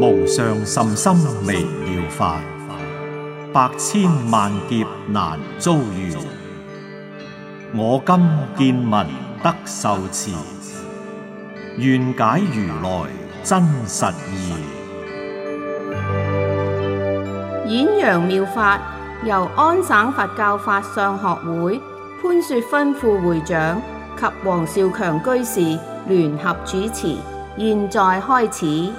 無上甚深微妙法，百千萬劫難遭遇。我今見聞得受持，願解如來真實義。 演揚妙法由安省佛教法相學會潘雪芬副會長及黃少強居士聯合主持，現在開始。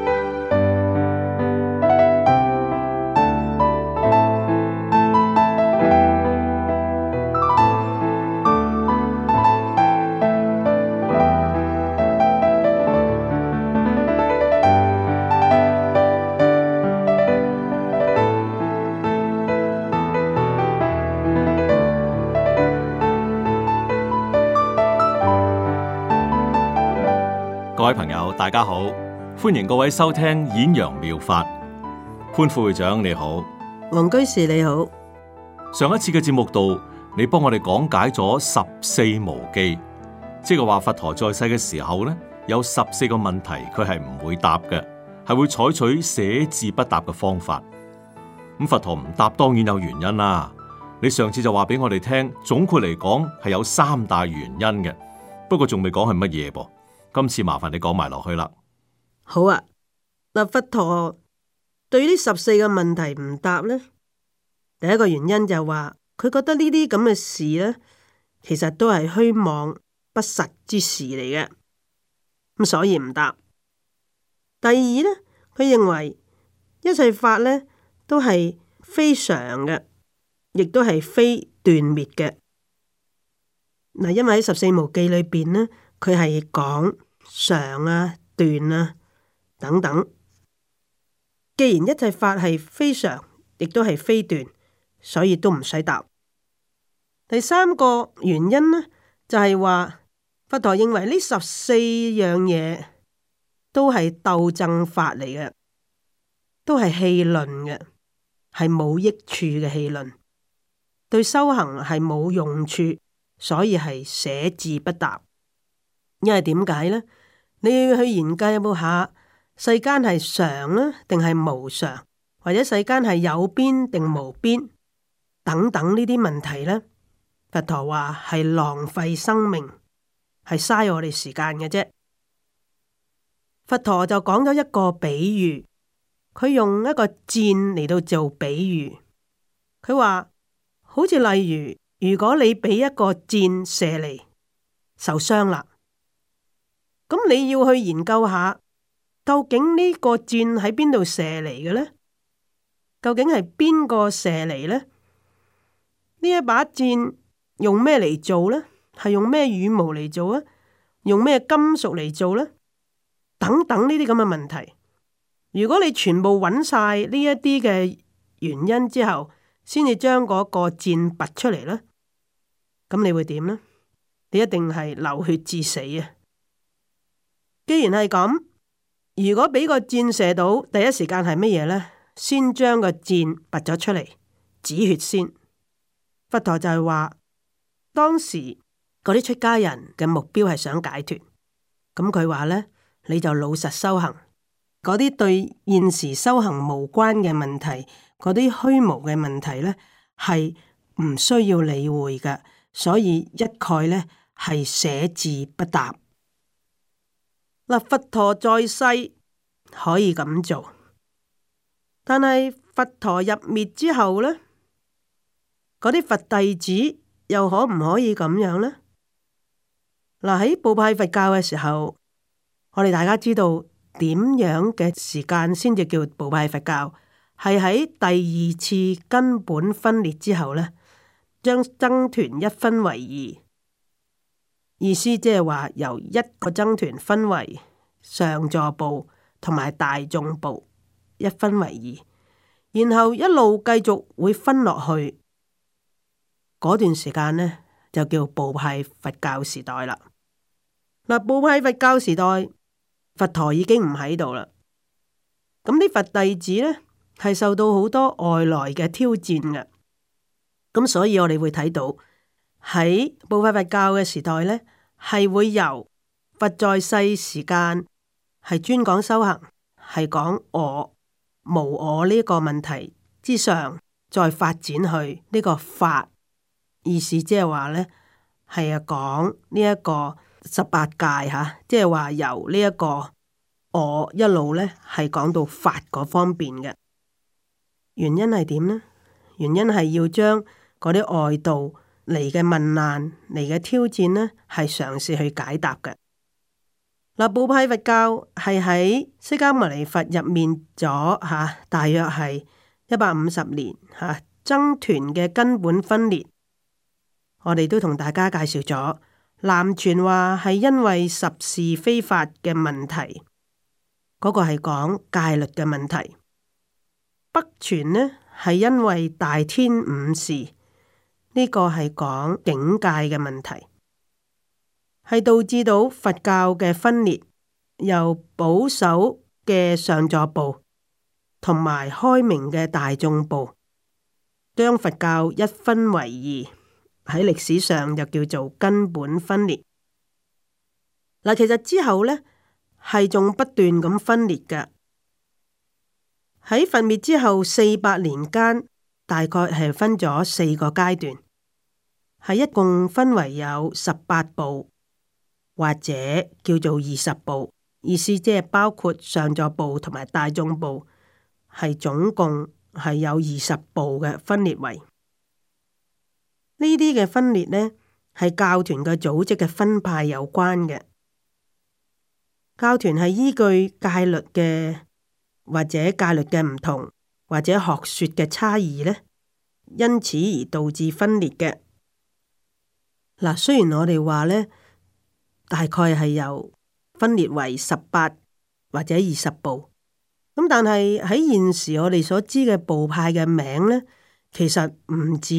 各位朋友，大家好，歡迎各位收聽演揚妙法。潘副會長你好， 黃居士你好。 上一次嘅節目度，你幫我哋講解咗十四無記，即係話佛陀在世嘅時候呢，有14個問題佢係唔會答嘅，係會採取寫字不答嘅方法。咁佛陀唔答，當然有原因啦。你上次就話俾我哋聽，總括嚟講係有3大原因嘅，不過仲未講係乜嘢噃。今次麻煩你講埋落去啦。 好啊，嗱，佛陀對呢14個問題唔答呢，第一個原因就係話佢覺得呢啲咁嘅事呢，其實都係虛妄不實之事嚟嘅，咁所以唔答。第二呢，佢認為一切法呢都係非常嘅，亦都係非斷滅嘅。嗱，因為喺14無記裏邊呢，佢係講常啊、斷啊等等。既然一切法係非常，亦都係非斷，所以都唔使答。第三個原因呢，就係話佛陀認為呢14樣嘢都係鬥爭法嚟嘅，都係戲論嘅，係冇益處嘅戲論，對修行係冇用處，所以係寫字不答。因為點解呢？你要去研究有冇下世間係常呢，定係無常，或者世間係有邊定無邊等等呢啲問題呢？佛陀話係浪費生命，係嘥我哋時間嘅啫。佛陀就講咗一個比喻，佢用一個箭嚟到做比喻。佢話好似例如，如果你俾一個箭射嚟，受傷啦。咁你要去研究下，究竟呢個箭喺邊度射嚟嘅呢？究竟係邊個射嚟呢？呢一把箭用咩嚟做呢？係用咩羽毛嚟做啊？用咩金屬嚟做呢？等等呢啲咁嘅問題，如果你全部揾晒呢一啲嘅原因之後，先至將嗰個箭拔出嚟呢，咁你會點呢？你一定係流血致死啊！既然係咁，如果俾個箭射到，第一時間係乜嘢呢？先將個箭拔咗出嚟，止血先。佛陀就係話，當時嗰啲出家人嘅目標係想解脫，咁佢話呢，你就老實修行，嗰啲對現時修行無關嘅問題，嗰啲虛無嘅問題呢，係唔需要理會嘅，所以一概呢，係寫字不答。嗱，佛陀在世可以咁做，但係佛陀入滅之後呢，嗰啲佛弟子又可唔可以咁樣呢？嗱，喺部派佛教嘅時候，我哋大家知道點樣嘅時間先至叫部派佛教，係喺第2次根本分裂之後呢，將僧團一分為2。意思即係話由一個僧團分為上座部同埋大眾部，一分為2，然後一路繼續會分落去。嗰段時間呢，就叫部派佛教時代啦。嗱，部派佛教時代，佛陀已經唔喺度啦。咁啲佛弟子呢，係受到好多外來嘅挑戰嘅。咁所以我哋會睇到喺部派佛教嘅時代呢，係會由佛在世時間係專講修行， 係講我無我呢個問題之上，再發展去呢個法，意思即係話呢係講呢一個18界吓，即係話由呢一個我一路呢係講到法嗰方面嘅。原因係點呢？原因係要將嗰啲外道嚟嘅問難嚟嘅挑戰呢，係嘗試去解答嘅。嗱，部派佛教係喺釋迦牟尼佛入面咗大約係150年僧團嘅根本分裂。我哋都同大家介紹咗，南傳話係因為十事非法嘅問題，嗰個係講戒律嘅問題；北傳呢係因為大天五事，呢個係講境界嘅問題。係導致到佛教嘅分裂，由保守嘅上座部同埋開明嘅大眾部，將佛教一分為二，喺歷史上就叫做根本分裂。嗱，其實之後呢係仲不斷咁分裂嘅。喺佛滅之後400年間，大概係分咗4個階段，係一共分為有18部。或者叫做20部，意思即係包括上座部同埋大眾部，係總共係有20部嘅分裂為。呢啲嘅分裂呢，係教團嘅組織嘅分派有關嘅。教團係依據戒律嘅或者戒律嘅唔同，或者學說嘅差異呢，因此而導致分裂嘅。嗱，雖然我哋話呢，大概係由分裂為18或者20部，咁但係喺現時我哋所知嘅部派嘅名呢，其實唔止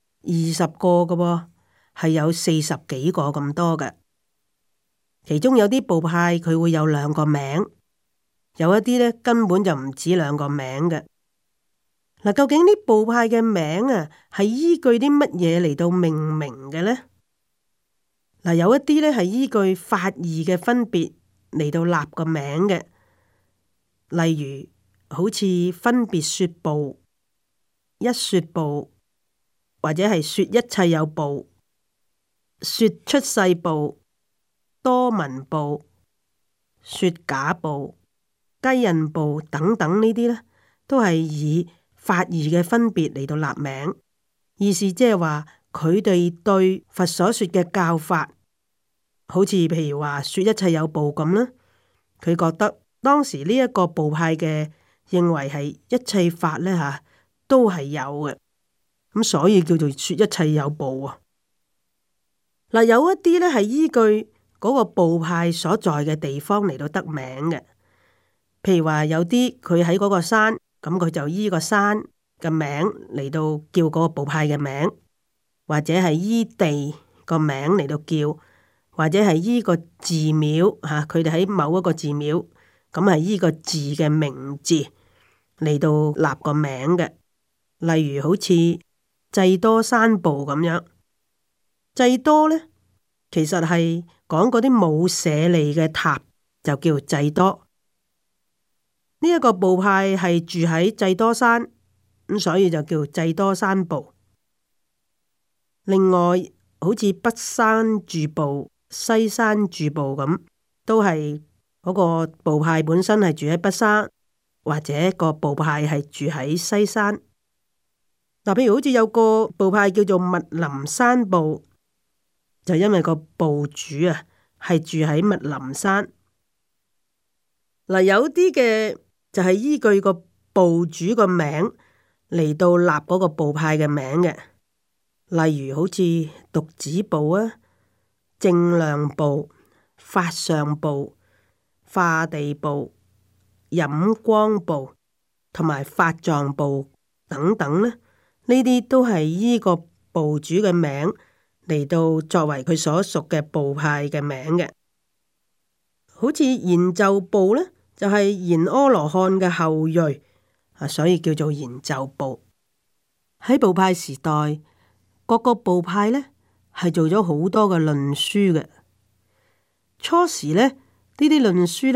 20個㗎喎，係有40幾個咁多嘅。其中有啲部派佢會有2個名，有一啲呢根本就唔止2個名嘅。嗱，究竟呢部派嘅名啊，係依據啲乜嘢嚟到命名嘅呢？嗱，有一啲咧係依據法義嘅分別嚟到立個名嘅，例如好似分別說部、一說部，或者係說一切有部、說出世部、多聞部、說假部、雞印部等等呢啲呢，都係以法義嘅分別嚟到立名，意思即係話，佢哋對佛所說嘅教法，好似譬如話說一切有部咁啦，佢覺得當時呢一個部派嘅認為係一切法呢都係有嘅，咁所以叫做說一切有部啊。嗱，有一啲呢係依據嗰個部派所在嘅地方嚟到得名嘅，譬如話有啲佢喺嗰個山，咁佢就依個山嘅名嚟到叫嗰個部派嘅名。或者係依地個名嚟到叫，或者係依個寺廟嚇，佢哋喺某一個寺廟，咁係依個寺嘅名字嚟到立個名嘅。例如好似濟多山部咁樣，濟多呢，其實係講嗰啲冇舍利嘅塔，就叫濟多。呢一個部派係住喺濟多山，咁所以就叫濟多山部。另外，好似北山住部、西山住部咁，都係嗰個部派本身係住喺北山，或者個部派係住喺西山。嗱，譬如好似有個部派叫做密林山部，就因為個部主啊係住喺密林山。嗱，有啲嘅就係依據個部主個名嚟到立嗰個部派嘅名嘅。例如好似犢子部啊、正量部、法相部、化地部、飲光部同埋法藏部等等呢，呢啲都係依個部主嘅名嚟到作為佢所屬嘅部派嘅名嘅。好似延咒部呢，就係延阿羅漢嘅後裔啊，所以叫做延咒部。喺部派時代，各個部派呢係做咗好多嘅論書嘅。初時呢，呢啲論書呢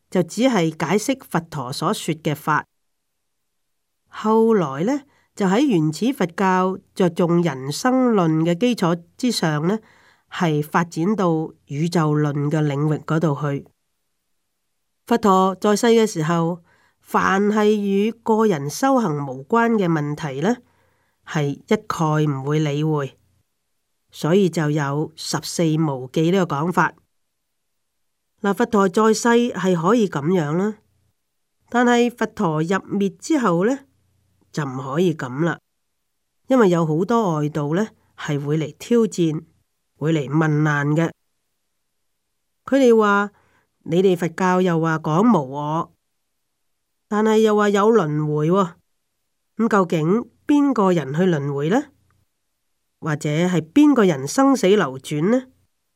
就只係解釋佛陀所說嘅法。後來呢，就喺原始佛教着重人生論嘅基礎之上呢，係發展到宇宙論嘅領域嗰度去。佛陀在世嘅時候，凡係與個人修行無關嘅問題呢，係一概唔會理會，所以就有十四無記呢個講法。嗱，佛陀在世係可以咁樣啦，但係佛陀入滅之後呢，就唔可以咁啦，因為有好多外道呢係會嚟挑戰，會嚟問難嘅。佢哋話：你哋佛教又話講無我，但係又話有輪迴喎，咁究竟邊個人去輪迴呢？或者係邊個人生死流轉呢？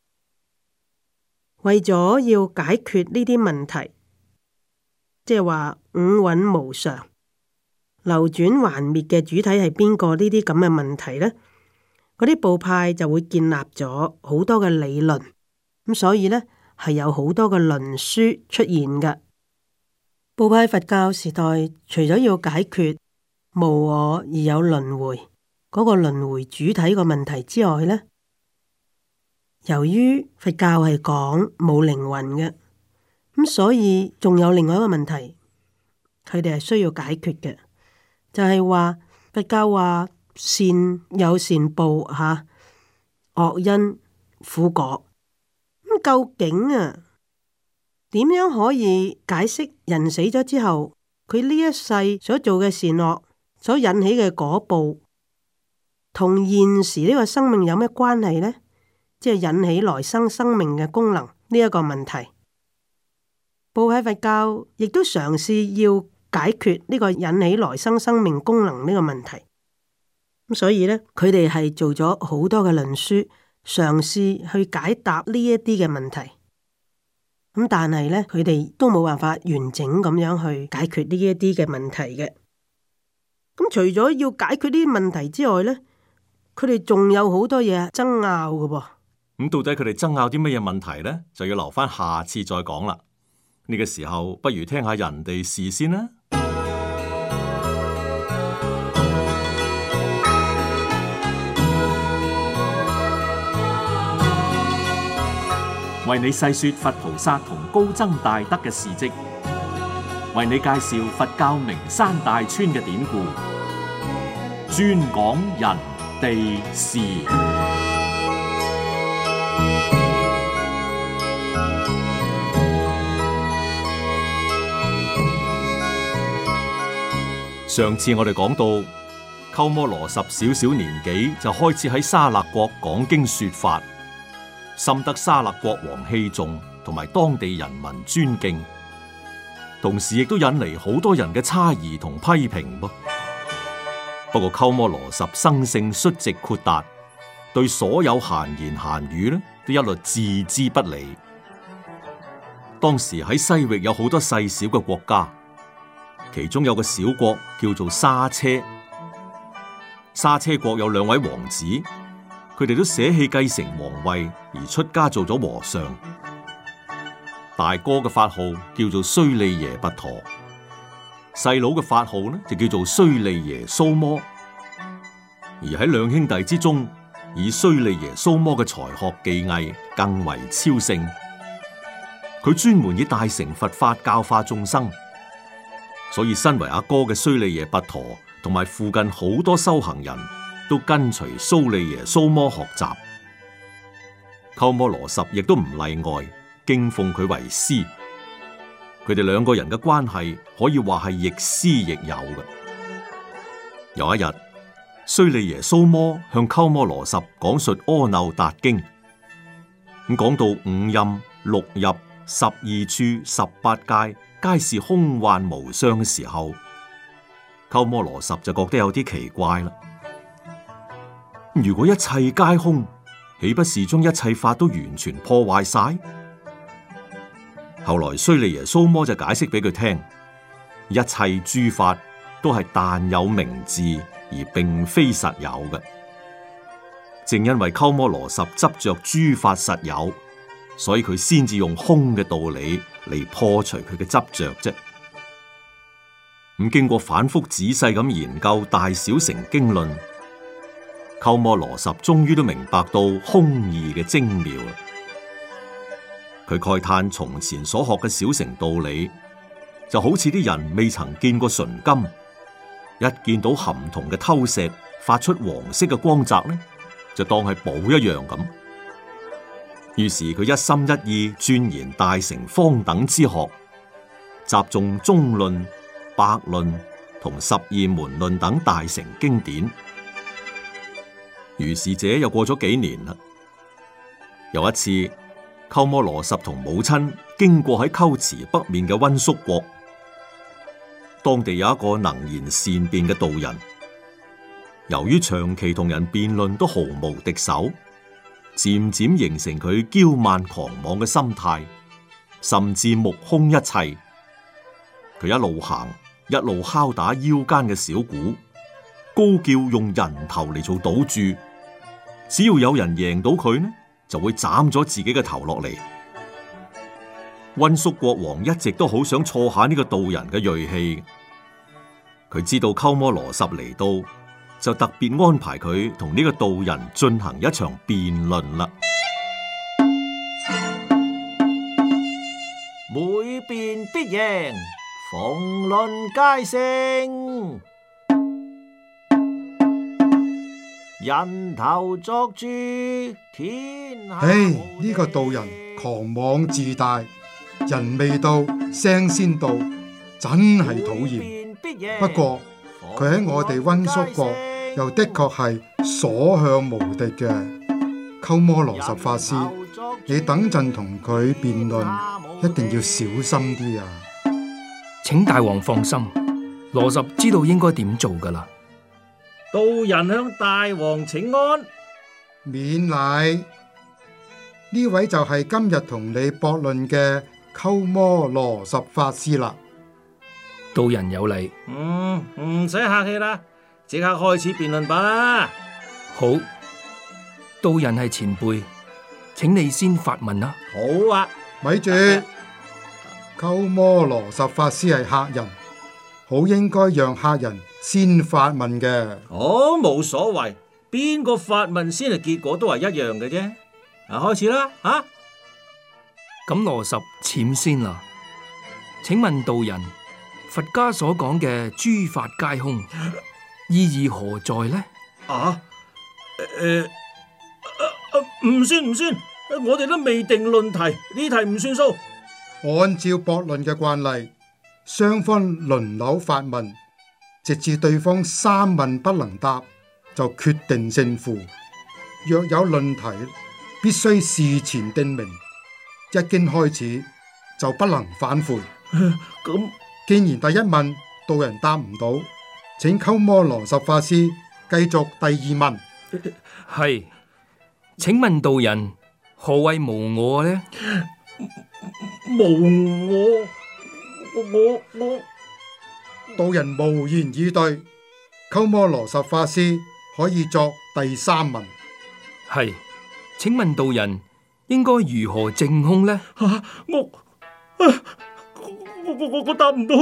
為咗要解決呢啲問題，即係話五蘊無常、流轉還滅嘅主體係邊個？呢啲咁嘅問題呢，嗰啲部派就會建立咗好多嘅理論，咁所以呢，係有好多嘅論書出現嘅。部派佛教時代，除咗要解決無我而有輪迴嗰個輪迴主體個問題之外呢，由於佛教係講冇靈魂嘅，咁所以仲有另外一個問題，佢哋係需要解決嘅，就係話佛教話善有善報吓，惡因苦果。咁究竟點樣可以解釋人死咗之後，佢呢一世所做嘅善惡所引起嘅果報，同現時呢個生命有咩關係呢？即係引起來生生命嘅功能呢一個問題。部派佛教亦都嘗試要解決呢個引起來生生命功能呢個問題。咁所以呢，佢哋係做咗好多嘅論書，嘗試去解答呢一啲嘅問題。咁但係呢，佢哋都冇辦法完整咁樣去解決呢一啲嘅問題嘅。咁除咗要解決呢啲問題之外呢，佢哋仲有好多嘢爭拗嘅噃。 咁到底佢哋爭拗啲乜嘢問題呢？就要留翻下次再講啦。呢個時候不如聽下人哋事先啦。為你細說佛菩薩同高僧大德嘅事跡，為你介紹佛教名山大川嘅典故，專講人地事。上次我哋講到，鳩摩羅什小小年紀就開始喺沙勒國講經說法，深得沙勒國王器重，同埋當地人民尊敬，同時亦都引嚟好多人嘅猜疑同批評噃。不過鳩摩羅什生性率直豁達，對所有閒言閒語呢都一律置之不理。當時喺西域有好多細小嘅國家，其中有個小國叫做沙車。沙車國有兩位王子，佢哋都捨棄繼承皇位而出家做咗和尚。大哥嘅法號叫做須利耶跋陀，細佬嘅法號呢就叫做須利耶蘇摩。而喺兩兄弟之中，以須利耶蘇摩嘅才學技藝更為超勝。佢專門以大乘佛法教化眾生，所以身為阿哥嘅須利耶跋陀同埋附近好多修行人都跟隨須利耶蘇摩學習。鳩摩羅什亦都唔例外，敬奉佢為師。佢哋兩個人嘅關係可以話係亦師亦友嘅。有一日，須利耶蘇摩向鳩摩羅什講述阿耨達經，咁講到五陰六入12處18界皆是空幻無相嘅時候，鳩摩羅什就覺得有啲奇怪啦。如果一切皆空，豈不是將一切法都完全破壞晒？後來須利耶蘇摩就解釋俾佢聽，一切諸法都係但有名字而並非實有嘅。正因為鳩摩羅什執着諸法實有，所以佢先至用空嘅道理嚟破除佢嘅執着啫。咁經過反覆仔細咁研究大小乘經論，鳩摩羅什終於都明白到空義嘅精妙。佢慨嘆從前所學嘅小乘道理，就好似啲人未曾見過純金，一見到含銅嘅偷石發出黃色嘅光澤呢，就當係寶一樣咁。於是佢一心一意鑽研大乘方等之學，集中中論、百論同十二門論等大乘經典。如是者又過咗幾年啦。有一次，鳩摩羅什同母親經過喺龜茲北面嘅溫宿國，當地有一個能言善辯嘅道人，由於長期同人辯論都毫無敵手，漸漸形成佢驕慢狂妄嘅心態，甚至目空一切。佢一路行，一路敲打腰間嘅小鼓，高叫用人頭嚟做賭注，只要有人贏到佢呢，就會斬咗自己嘅頭落嚟。溫宿國王一直都好想挫下呢個道人嘅銳氣，佢知道鳩摩羅什嚟到，就特別安排佢同呢個道人進行一場辯論啦。 每辯必贏，逢論皆勝。人頭作注，天下無敵。 呢個道人狂妄自大，人未到聲先到，真係討厭。不過佢喺我哋溫宿國又的確係所向無敵嘅。鳩摩羅什法師，你等陣同佢辯論，一定要小心啲啊！ 請大王放心，羅什知道應該點做噶啦。 道人向大王請安。 免禮。呢位就係今日同你駁論嘅鳩摩羅什法師啦。 道人有禮。 唔使客氣啦，即刻開始辯論吧啦。 好，道人係前輩，請你先發問啦。 好啊， 咪住，鳩摩羅什法師係客人，好應該讓客人先發問嘅。 哦，冇所謂，邊個發問先係結果都係一樣嘅啫。開始啦， 咁羅什潛先啦。請問道人，佛家所講嘅諸法皆空，意義何在呢？ 唔算，我哋都未定論題，呢題唔算數。 按照駁論嘅慣例，雙方輪流發問，直至對方三問不能答，就決定勝負。若有論題，必須事前定明，一經開始就不能反悔。 咁既然第一問道人答唔到，請鳩摩羅什法師繼續第二問。 係，請問道人何謂無我呢？ 無我， 道人無言以對。鳩摩羅什法師可以作第三問。 係，請問道人應該如何證空呢？ 我答唔到，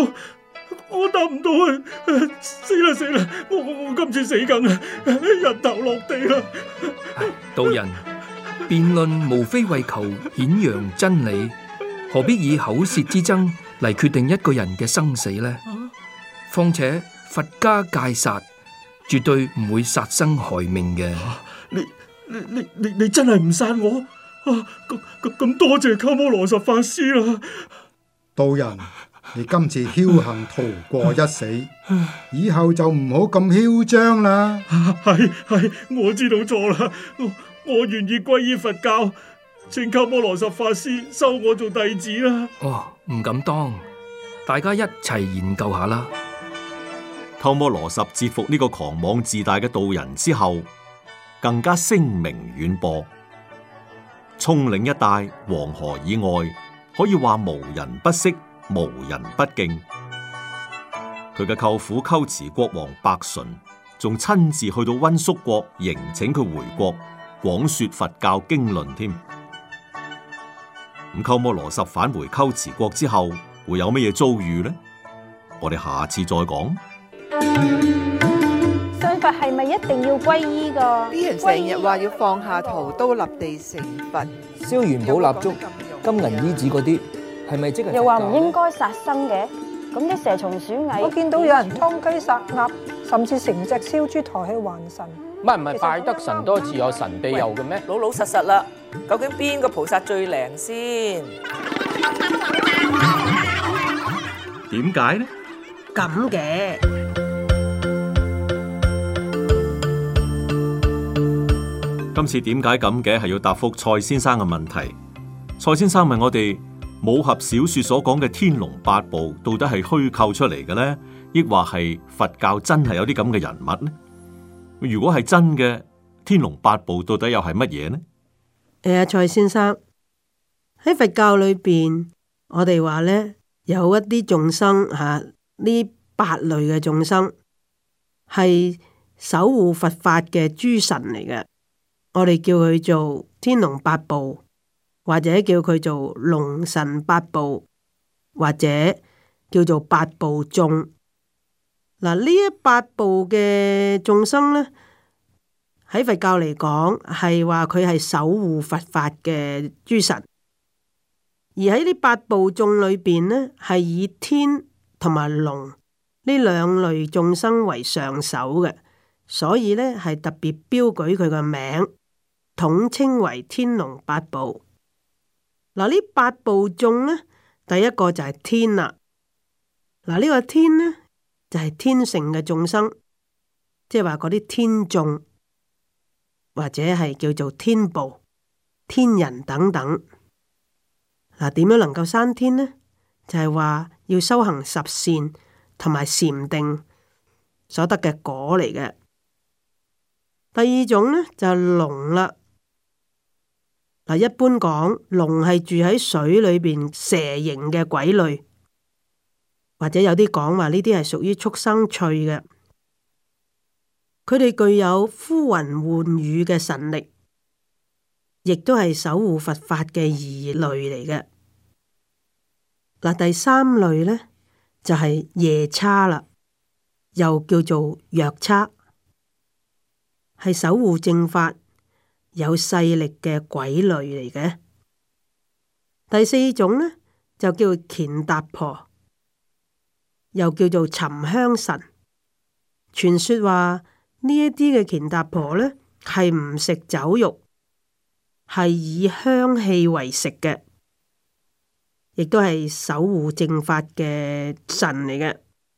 死啦！我今次死梗啦，人頭落地啦！ 道人，辯論無非為求顯揚真理，何必以口舌之爭嚟決定一個人嘅生死呢？況且佛家戒殺，絕對唔會殺生害命嘅。 你真係唔殺我？咁多謝鳩摩羅什法師啦！ 道人，你今次僥倖逃過一死，以後就唔好咁囂張啦。 係，我知道錯啦，我願意皈依佛教，請鳩摩羅什法師收我做弟子啦。 唔敢當，大家一齊研究下啦。 鳩摩羅什折服呢個狂妄自大嘅道人之後，更加聲名遠播，蔥嶺一帶黃河以外，可以話無人不識，無人不敬。佢嘅舅父龜茲國王白純仲親自去到溫宿國迎請佢回國，廣說佛教經論添。 咁鳩摩羅什返回龜茲國之後，會有乜嘢遭遇呢？我哋下次再講。 信佛係咪一定要皈依噶？ 啲人成日話要放下屠刀立地成佛， 燒元寶蠟燭、金銀衣紙嗰啲，係咪即係？ 又話唔應該殺生嘅，咁啲蛇蟲鼠蟻，我見到有人劏雞殺鴨，甚至成隻燒豬抬去還神。 唔係拜得神多自有神庇佑嘅咩？ 老老實實啦，究竟邊個菩薩最靈先？ 點解呢？ 咁嘅今次點解咁嘅係要答覆蔡先生嘅問題。蔡先生問我哋，武俠小說所講嘅天龍八部到底係虛構出嚟嘅呢？抑或係佛教真係有啲咁嘅人物呢？如果係真嘅，天龍八部到底又係乜嘢呢？ 蔡先生，喺佛教裏邊，我哋話呢，有一啲眾生呢八類嘅眾生係守護佛法嘅諸神嚟嘅，我哋叫佢做天龍八部，或者叫佢做龍神八部，或者叫做八部眾。嗱，呢一八部嘅眾生呢，喺佛教嚟講係話佢係守護佛法嘅諸神，而喺呢八部眾裏邊呢，係以天同埋龍呢兩類眾生為上首嘅，所以呢係特別標舉佢個名，統稱為天龍八部。嗱，呢八部眾呢，第一個就係天啦。嗱，呢個天呢，就係天乘嘅眾生，即係話嗰啲天眾，或者係叫做天部、天人等等。嗱，點樣能夠生天呢？就係話要修行十善同埋禪定所得嘅果嚟嘅。第二種呢，就係龍啦。嗱，一般講龍係住喺水裏邊蛇形嘅鬼類。或者有啲講話呢啲係屬於畜生趣嘅，佢哋具有呼雲喚雨嘅神力，亦都係守護佛法嘅異類嚟嘅。嗱，第三類呢，就係夜叉啦，又叫做藥叉，係守護正法、有勢力嘅鬼類嚟嘅。第四種呢，就叫乾達婆。又叫做沉香神，傳說話呢一啲嘅乾達婆呢，係唔食酒肉，係以香氣為食嘅，亦都係守護正法嘅神嚟嘅。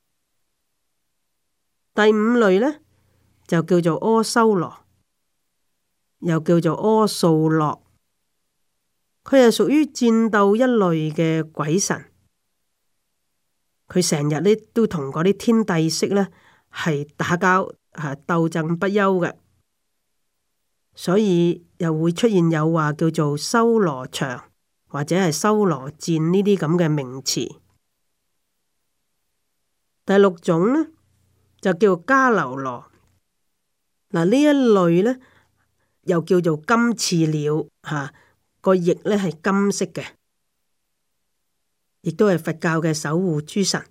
第五類呢，就叫做阿修羅，又叫做阿素洛，佢係屬於戰鬥一類嘅鬼神。佢成日呢都同嗰啲天帝釋呢係打交，鬥爭不休嘅，所以又會出現有話叫做修羅場或者係修羅戰呢啲咁嘅名詞。第六種呢，就叫迦樓羅。嗱，呢一類呢，又叫做金翅鳥，個翼呢係金色嘅。亦都係佛教嘅守護諸神。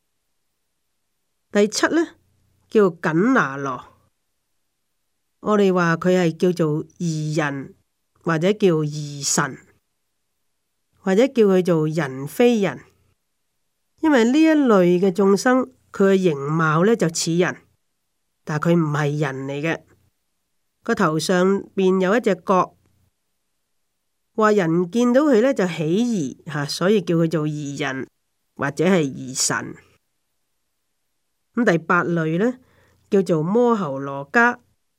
第七呢，叫緊拿羅，我哋話佢係叫做異人，或者叫異神，或者叫佢做人非人。因為呢一類嘅眾生，佢嘅形貌呢就似人，但係佢唔係人嚟嘅。個頭上邊有一隻角。話人見到佢呢就起疑吓，所以叫佢做疑人或者係疑神。咁第八類呢，叫做摩睺羅伽，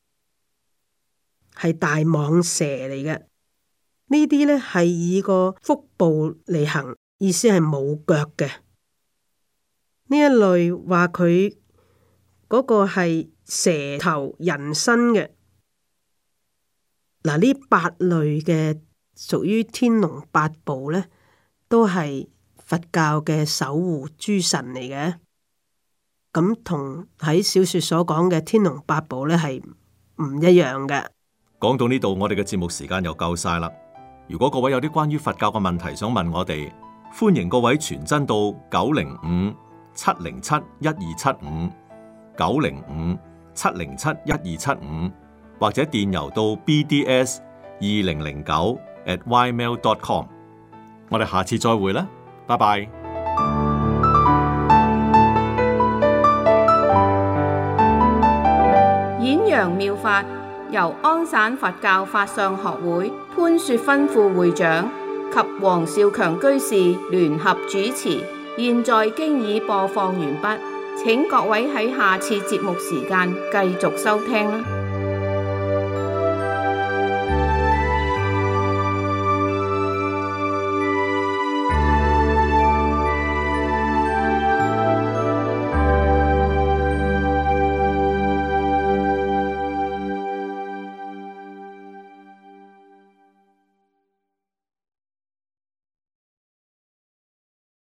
係大蟒蛇嚟嘅。呢啲呢係以個腹部嚟行，意思係冇腳嘅。呢一類話佢嗰個係蛇頭人身嘅。嗱，呢八類嘅。屬於天龍八部呢，都係佛教嘅守護諸神嚟嘅。咁同喺小說所講嘅天龍八部呢係唔一樣嘅。 講到呢度，我哋嘅節目時間又夠晒啦。 如果各位有啲關於佛教嘅問題想問我哋，歡迎各位傳真到905-707-1275 905-707-1275，或者電郵到 bds2009@ymail.com。我哋下次再會啦，拜拜。 演揚妙法由安省佛教法相學會潘雪芬副會長及黃少強居士聯合主持，現在經已播放完畢，請各位喺下次節目時間繼續收聽啦。